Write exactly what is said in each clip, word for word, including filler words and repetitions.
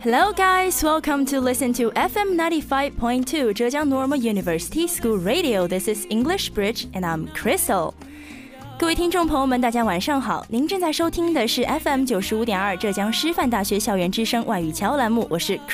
Hello guys, welcome to listen to F M ninety-five point two Zhejiang Normal University School Radio. This is English Bridge and I'm Crystal. 各位听众朋友们，大家晚上好，您正在收听的是 F M 九十五点二浙江师范大学校园之声外语桥栏目，我是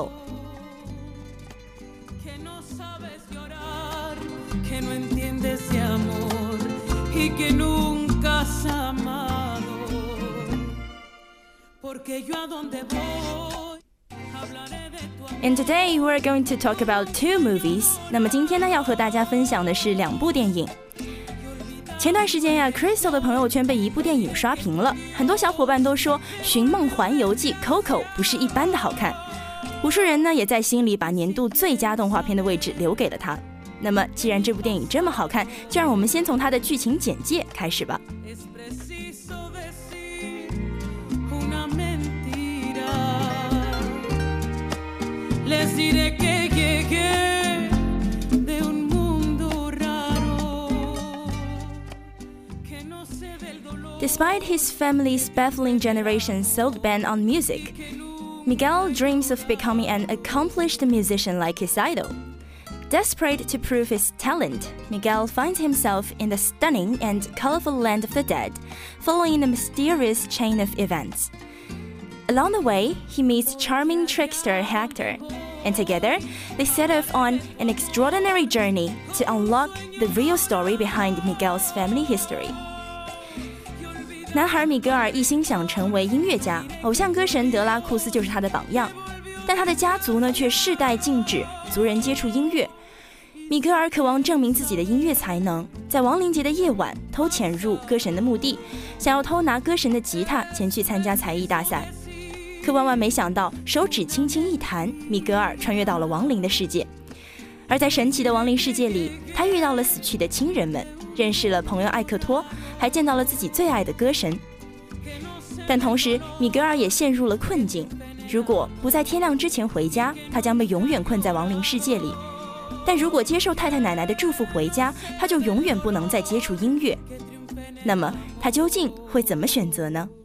Crystal。And today we're going to talk about two movies. 那么今天呢，要和大家分享的是两部电影。前段时间呀 ，Crystal 的朋友圈被一部电影刷屏了，很多小伙伴都说《寻梦环游记》Coco 不是一般的好看，无数人呢也在心里把年度最佳动画片的位置留给了它。那么，既然这部电影这么好看，就让我们先从它的剧情简介开始吧。Despite his family's baffling generation's sold ban on music, Miguel dreams of becoming an accomplished musician like his idol. Desperate to prove his talent, Miguel finds himself in the stunning and colorful land of the dead, following a mysterious chain of events. Along the way, he meets charming trickster Hector, and together, they set off on an extraordinary journey to unlock the real story behind Miguel's family history. 男孩米格尔一心想成为音乐家，偶像歌神德拉库斯就是他的榜样，但他的家族呢却世代禁止族人接触音乐。米格尔渴望证明自己的音乐才能，在亡灵节的夜晚偷潜入歌神的墓地，想要偷拿歌神的吉他前去参加才艺大赛。可万万没想到，手指轻轻一弹，米格尔穿越到了亡灵的世界。而在神奇的亡灵世界里，他遇到了死去的亲人们，认识了朋友艾克托，还见到了自己最爱的歌神。但同时，米格尔也陷入了困境，如果不在天亮之前回家，他将被永远困在亡灵世界里。但如果接受太太奶奶的祝福回家，他就永远不能再接触音乐。那么他究竟会怎么选择呢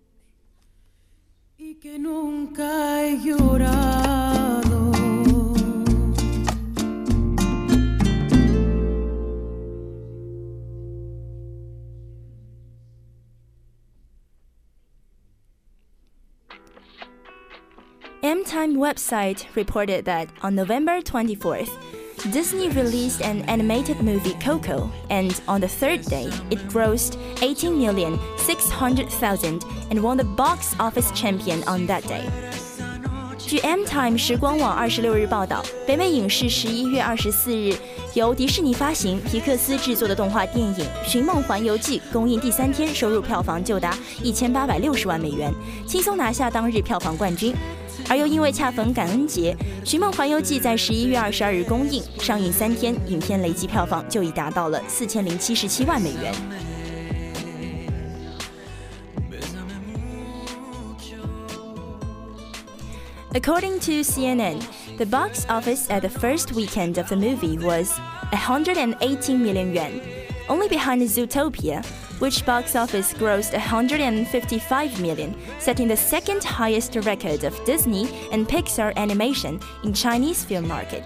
？M-Time website reported that on November twenty-fourth, Disney released an animated movie Coco, and on the third day, it grossed eighteen million six hundred thousand and won the box office champion on that day. 据 M-Time 时光网二十六日报道，北美影视十一月二十四日由迪士尼发行、皮克斯制作的动画电影《寻梦环游记》公映第三天收入票房就达一千八百六十万美元，轻松拿下当日票房冠军。而又因为恰逢感恩节，《寻梦环游记》在十一月二十二日公映，上映三天，影片累计票房就已达到了四千零七十七万美元。According to C N N, the box office at the first weekend of the movie was one hundred eighteen million yuan, only behind Zootopia, which box office grossed one hundred fifty-five million, setting the second highest record of Disney and Pixar animation in Chinese film market.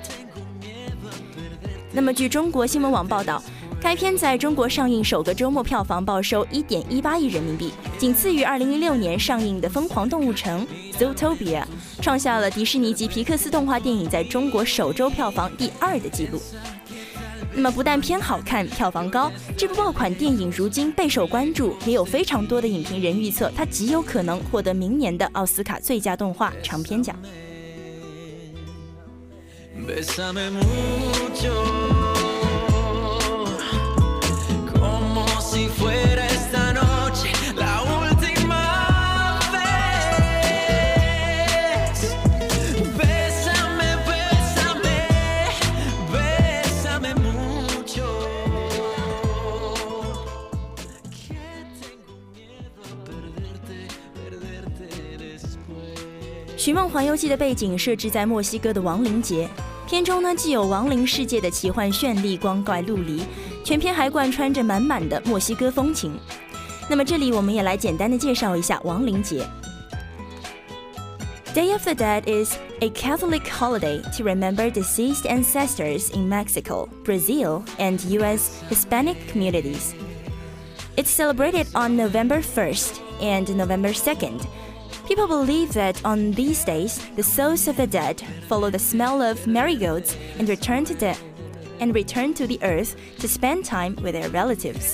那么据中国新闻网报道，该片在中国上映首个周末票房报收 一点一八亿人民币，仅次于二零一六年上映的《疯狂动物城》Zootopia， 创下了迪士尼及皮克斯动画电影在中国首周票房第二的纪录。那么不但片好看，票房高，这部爆款电影如今备受关注，也有非常多的影评人预测它极有可能获得明年的奥斯卡最佳动画长片奖。《寻梦环游记》的背景设置在墨西哥的亡灵节，片中呢既有亡灵世界的奇幻绚丽、光怪陆离，全片还贯穿着满满的墨西哥风情。那么这里我们也来简单的介绍一下亡灵节。 Day of the Dead is a Catholic holiday to remember deceased ancestors in Mexico, Brazil, and U S Hispanic communities. It's celebrated on November first and November second. People believe that on these days, the souls of the dead follow the smell of marigolds and return to the, and return to the earth to spend time with their relatives.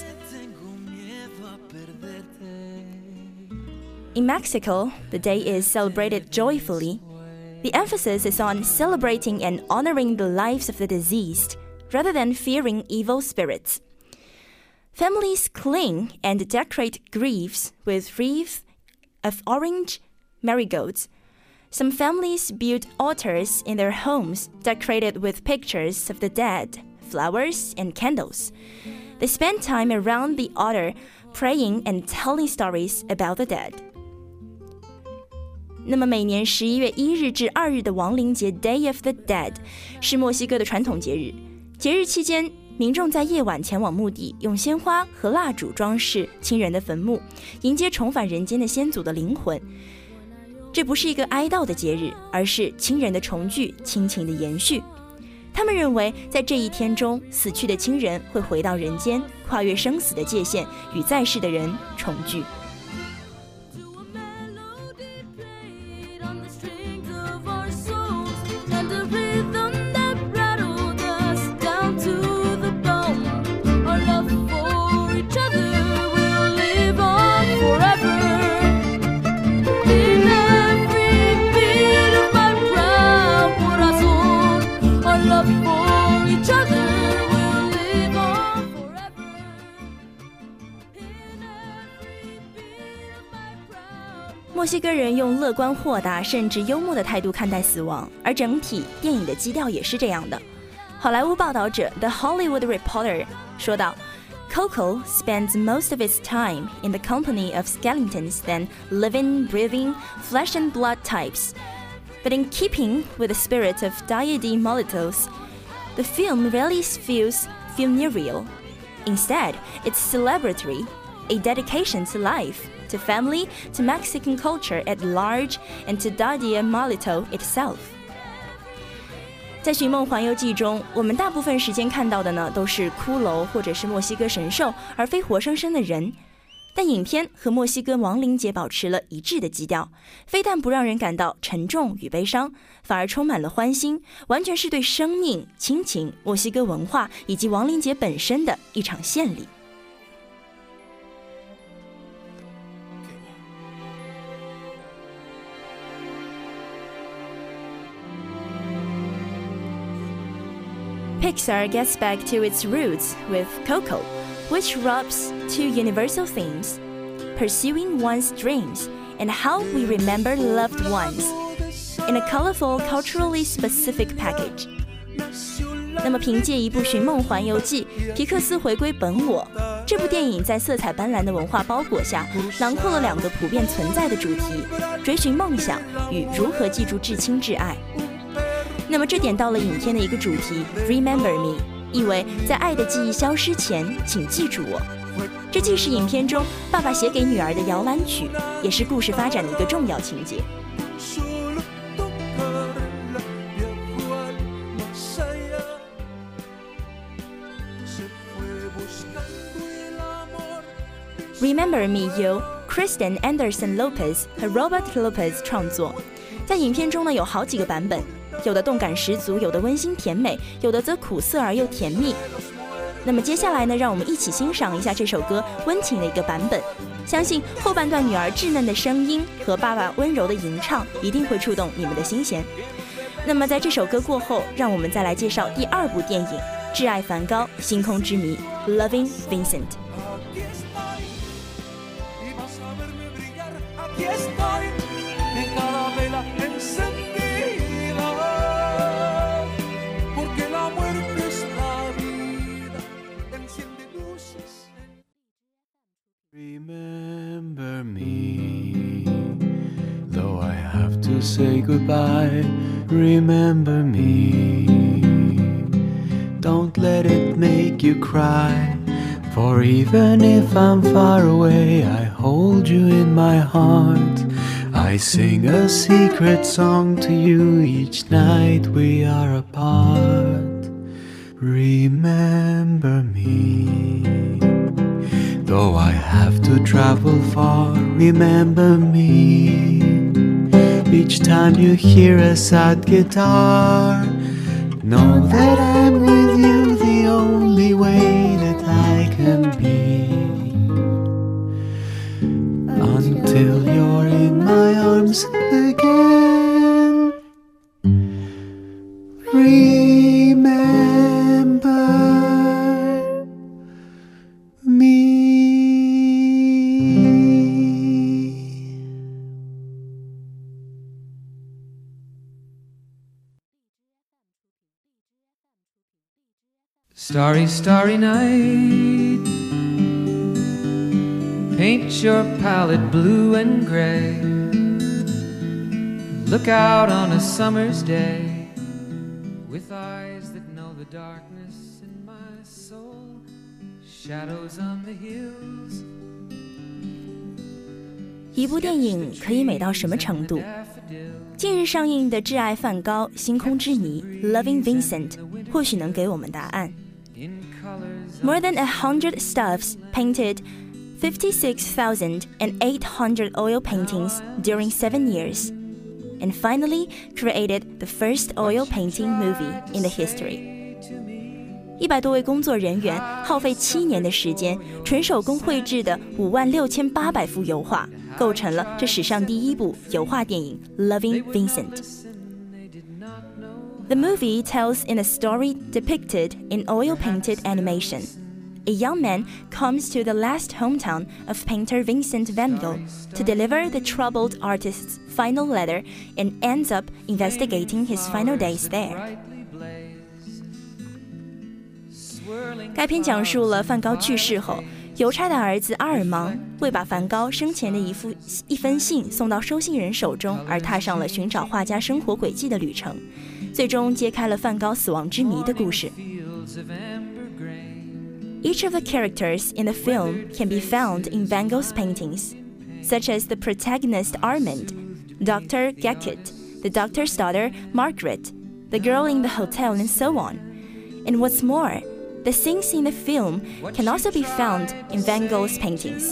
In Mexico, the day is celebrated joyfully. The emphasis is on celebrating and honoring the lives of the deceased, rather than fearing evil spirits. Families cling and decorate graves with wreaths of orange marigolds. Some families build altars in their homes decorated with pictures of the dead, flowers, and candles. They spend time around the altar, praying and telling stories about the dead. 那么每年十一月一日至二日的亡灵节 Day of the Dead 是墨西哥的传统节日。节日期间，民众在夜晚前往墓地，用鲜花和蜡烛装饰亲人的坟墓，迎接重返人间的先祖的灵魂。这不是一个哀悼的节日，而是亲人的重聚，亲情的延续。他们认为，在这一天中，死去的亲人会回到人间，跨越生死的界限，与在世的人重聚。墨西哥人用乐观豁达甚至幽默的态度看待死亡，而整体电影的基调也是这样的。好莱坞报道者 The Hollywood Reporter 说道， Coco spends most of its time in the company of skeletons than living, breathing, flesh and blood types. But in keeping with the spirit of Dia de Muertos, the film rarely feels funereal. Instead, it's celebratory, a dedication to life,to family, to Mexican culture at large, and to Dia de Muertos itself. 在《寻梦环游记》中，我们大部分时间看到的呢，都是骷髅或者是墨西哥神兽，而非活生生的人。但影片和墨西哥亡灵节保持了一致的基调，非但不让人感到沉重与悲伤，反而充满了欢欣，完全是对生命、亲情、墨西哥文化以及亡灵节本身的一场献礼。Pixar gets back to its roots with Coco, which rubs two universal themes, pursuing one's dreams and how we remember loved ones, in a colorful, culturally specific package. 那么凭借一部《寻梦环游记》，皮克斯回归本我。这部电影在色彩斑斓的文化包裹下，囊括了两个普遍存在的主题：追寻梦想与如何记住至亲至爱。那么这点到了影片的一个主题 Remember Me， 意为在爱的记忆消失前，请记住我。这既是影片中爸爸写给女儿的摇篮曲，也是故事发展的一个重要情节。Remember Me 由 Kristen Anderson Lopez 和 Robert Lopez 创作，在影片中呢有好几个版本。有的动感十足，有的温馨甜美，有的则苦涩而又甜蜜。那么接下来呢，让我们一起欣赏一下这首歌温情的一个版本。相信后半段女儿稚嫩的声音和爸爸温柔的吟唱，一定会触动你们的心弦。那么在这首歌过后，让我们再来介绍第二部电影《挚爱梵高：星空之谜》（Loving Vincent。Remember me, though I have to say goodbye. Remember me, don't let it make you cry. For even if I'm far away, I hold you in my heart. I sing a secret song to you each night we are apart. Remember me, though I have to travel far. Remember me, each time you hear a sad guitar. Know that I'm with you the only way that I can be, until you're in my arms again. Remember me. Starry, starry night, paint your palette blue and gray. Look out on a summer's day, with eyes that know the darkness in my soul. Shadows on the hills. 一部电影可以美到什么程度？近日上映的《挚爱梵高：星空之谜》（Loving Vincent） 或许能给我们答案。More than a hundred stuffs painted fifty-six thousand eight hundred oil paintings during seven years, and finally created the first oil painting movie in the history. 一百多位工作人员耗费七年的时间，纯手工绘制的五万六千八百幅油画，构成了这史上第一部油画电影《Loving Vincent》。The movie tells in a story depicted in oil-painted animation. A young man comes to the last hometown of painter Vincent van Gogh to deliver the troubled artist's final letter and ends up investigating his final days there. 该片讲述了梵高去世后，邮差的儿子阿尔芒为把梵高生前的一封一封信送到收信人手中，而踏上了寻找画家生活轨迹的旅程，最终揭开了梵高死亡之谜的故事。Each of the characters in the film can be found in Van Gogh's paintings, such as the protagonist Armand, Doctor Gackett, the doctor's daughter Margaret, the girl in the hotel, and so on. And what's more, the scenes in the film can also be found in Van Gogh's paintings.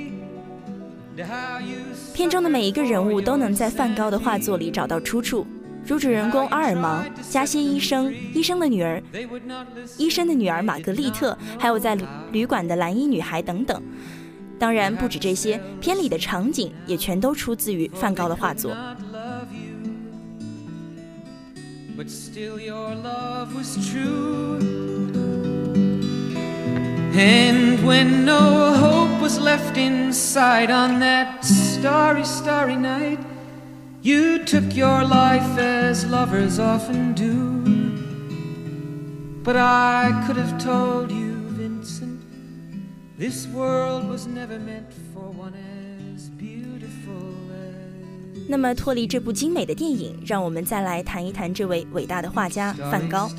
片中的每一个人物都能在梵高的画作里找到出处，如主人公阿尔芒、加歇医生、医生的女儿、医生的女儿玛格丽特，还有在旅馆的蓝衣女孩等等。当然，不止这些，片里的场景也全都出自于梵高的画作。But still your love was true. And when no hope was left inside on that starry, starry night, you took your life as lovers often do. But I could have told you, Vincent, this world was never meant for one as beautiful as... 那么脱离这部精美的电影，让我们再来谈一谈这位伟大的画家梵高。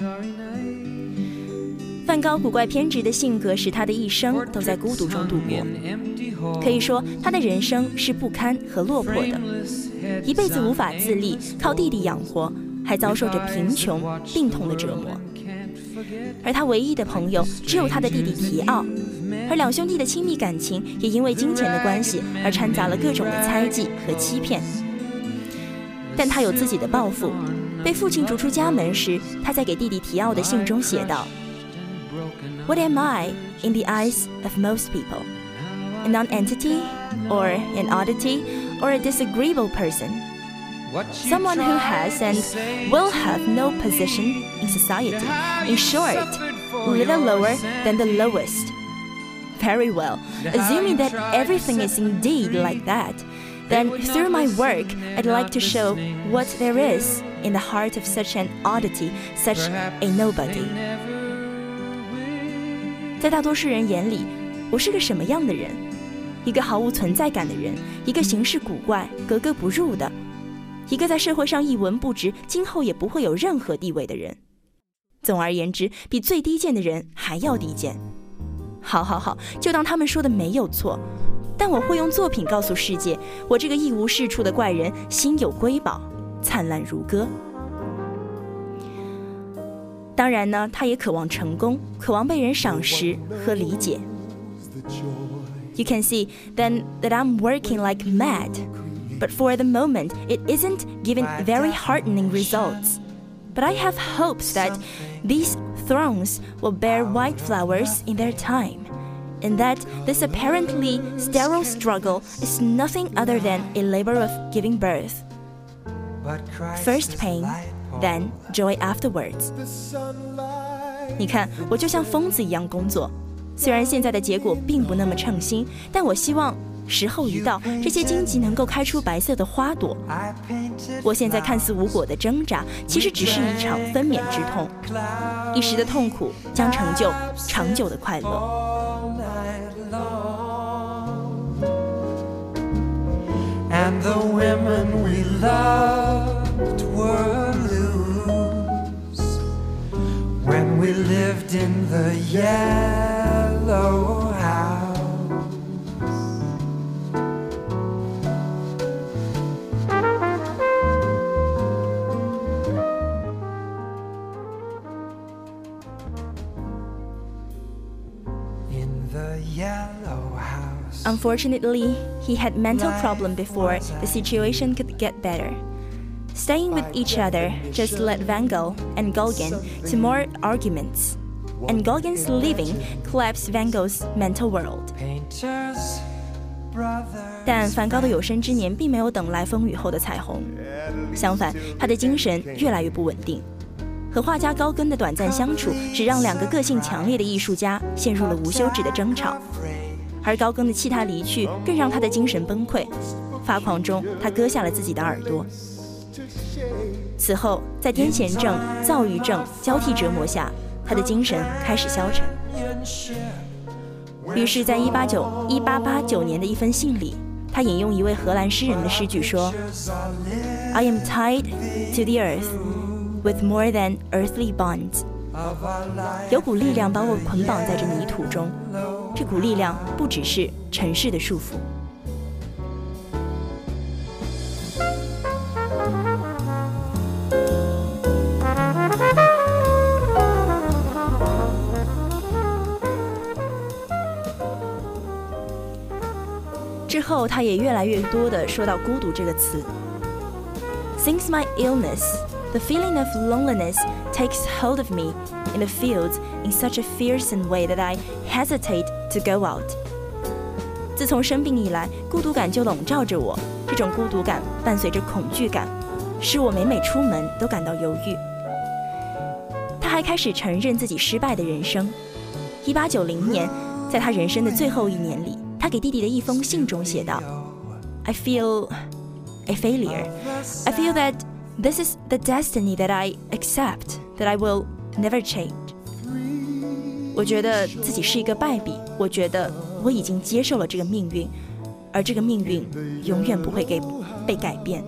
梵高古怪偏执的性格使他的一生都在孤独中度过，可以说他的人生是不堪和落魄的，一辈子无法自立，靠弟弟养活，还遭受着贫穷、病痛的折磨。而他唯一的朋友只有他的弟弟提奥，而两兄弟的亲密感情也因为金钱的关系而掺杂了各种的猜忌和欺骗。但他有自己的抱負，被父亲逐出家门时，他在给弟弟提奥的信中写道：What am I in the eyes of most people? A non-entity, or an oddity, or a disagreeable person? Someone who has and will have no position in society. In short, little lower than the lowest. Very well, assuming that everything is indeed like that, then through my work, I'd like to show what there is in the heart of such an oddity, such a nobody. 在大多数人眼里，我是个什么样的人？一个毫无存在感的人，一个行事古怪、格格不入的，一个在社会上一文不值，今后也不会有任何地位的人。总而言之，比最低贱的人还要低贱。好好好，就当他们说的没有错。 但我会用作品告诉世界，我这个一无是处的怪人心有瑰宝，灿烂如歌。当然呢，他也渴望成功，渴望被人赏识和理解。You can see then that I'm working like mad, but for the moment it isn't giving very heartening results. But I have hopes that these thorns will bear white flowers in their time, and that this apparently sterile struggle is nothing other than a labor of giving birth. First pain, then joy afterwards. 你看，我就像疯子一样工作，虽然现在的结果并不那么称心，但我希望时候一到，这些荆棘能够开出白色的花朵。我现在看似无果的挣扎，其实只是一场分娩之痛，一时的痛苦将成就长久的快乐。 And the women we loved were loose when we lived in the yellow house. In the yellow house. Unfortunately, he had mental problem before the situation could get better. Staying with each other just led Van Gogh and Gauguin to more arguments, and Gauguin's leaving collapsed Van Gogh's mental world. 但梵高的有生之年并没有等来风雨后的彩虹，相反，他的精神越来越不稳定。和画家高更的短暂相处，只让两个个性强烈的艺术家陷入了无休止的争吵。而高更的弃他离去，更让他的精神崩溃。发狂中，他割下了自己的耳朵。此后，在癫痫症、躁郁症交替折磨下，他的精神开始消沉。于是，在一八八九年的一封信里，他引用一位荷兰诗人的诗句说 ：“I am tied to the earth with more than earthly bonds。”有股力量把我捆绑在这泥土中，这股力量不只是尘世的束缚。之后，他也越来越多地说到孤独这个词。Since my illness, the feeling of loneliness takes hold of me in the fields in such a fearsome way that I hesitate to go out. 自从生病以来，孤独感就笼罩着我，这种孤独感伴随着恐惧感，使我每每出门都感到犹豫。他还开始承认自己失败的人生。一八九零年，在他人生的最后一年里，他给弟弟的一封信中写道 ：“I feel a failure. I feel that this is the destiny that I accept, that I will never change.” 我觉得自己是一个败笔，我觉得我已经接受了这个命运，而这个命运永远不会给被改变。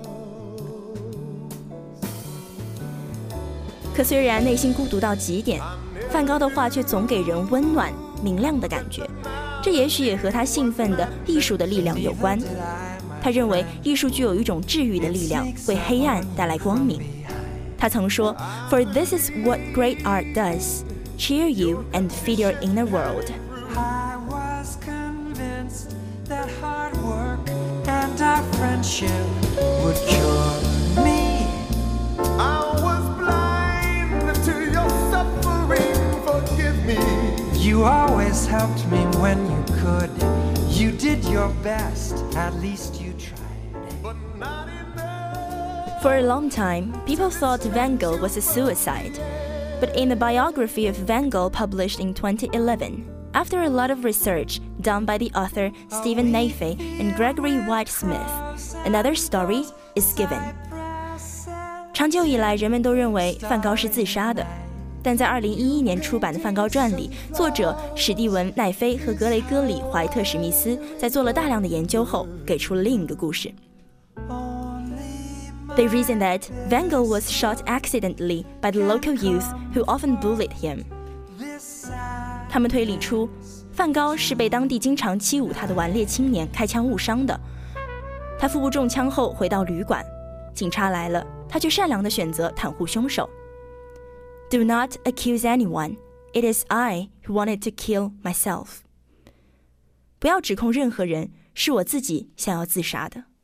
可虽然内心孤独到极点，梵高的画却总给人温暖、明亮的感觉。这也许也和他兴奋的艺术的力量有关。他认为艺术具有一种治愈的力量，为黑暗带来光明。他曾说 ：“For this is what great art does: cheer you and feed your inner world.” I was convinced that hard work and our friendship would cure me. I was blind to your suffering, forgive me. You always helped me when you could. You did your best, at least you tried. But not enough. For a long time, people thought Van Gogh was a suicide. But in the biography of Van Gogh published in twenty eleven, after a lot of research done by the author Stephen Naife and Gregory White Smith, another story is given. 长久以来，人们都认为梵高是自杀的。但在二零一一年出版的梵高传里，作者史蒂文·奈菲和格雷戈里·怀特史密斯在做了大量的研究后，给出了另一个故事。They reasoned that Van Gogh was shot accidentally by the local youth who often bullied him. 他们推理出， 梵高是被当地经常欺侮他的顽劣青年开枪误伤的。他腹部中枪后回到旅馆，警察来了，他却善良地选择袒护凶手。Do not accuse anyone. It is I who wanted to kill myself. 不要指控任何人，是我自己想要自杀的。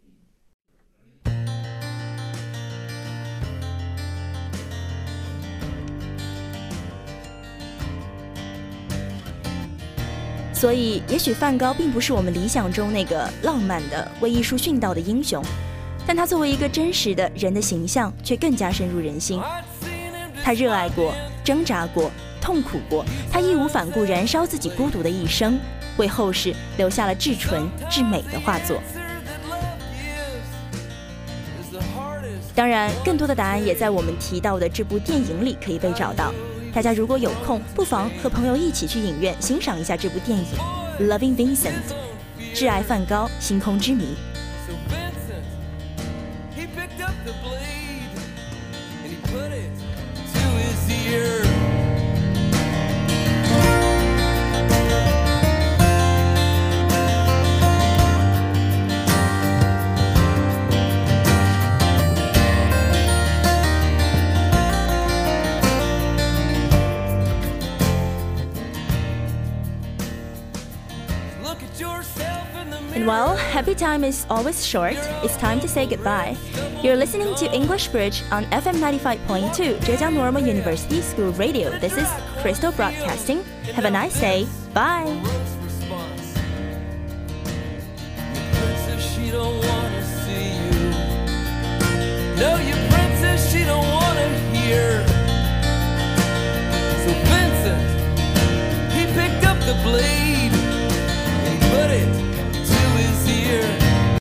所以，也许梵高并不是我们理想中那个浪漫的、为艺术殉道的英雄，但他作为一个真实的人的形象，却更加深入人心。他热爱过，挣扎过，痛苦过，他义无反顾燃烧自己孤独的一生，为后世留下了至纯至美的画作。当然，更多的答案也在我们提到的这部电影里可以被找到。大家如果有空，不妨和朋友一起去影院欣赏一下这部电影《Loving Vincent》，挚爱梵高，星空之谜。And well, happy time is always short. It's time to say goodbye. You're listening to English Bridge on F M ninety-five point two, Zhejiang Normal University School Radio. This is Crystal Broadcasting. Have a nice day. Bye.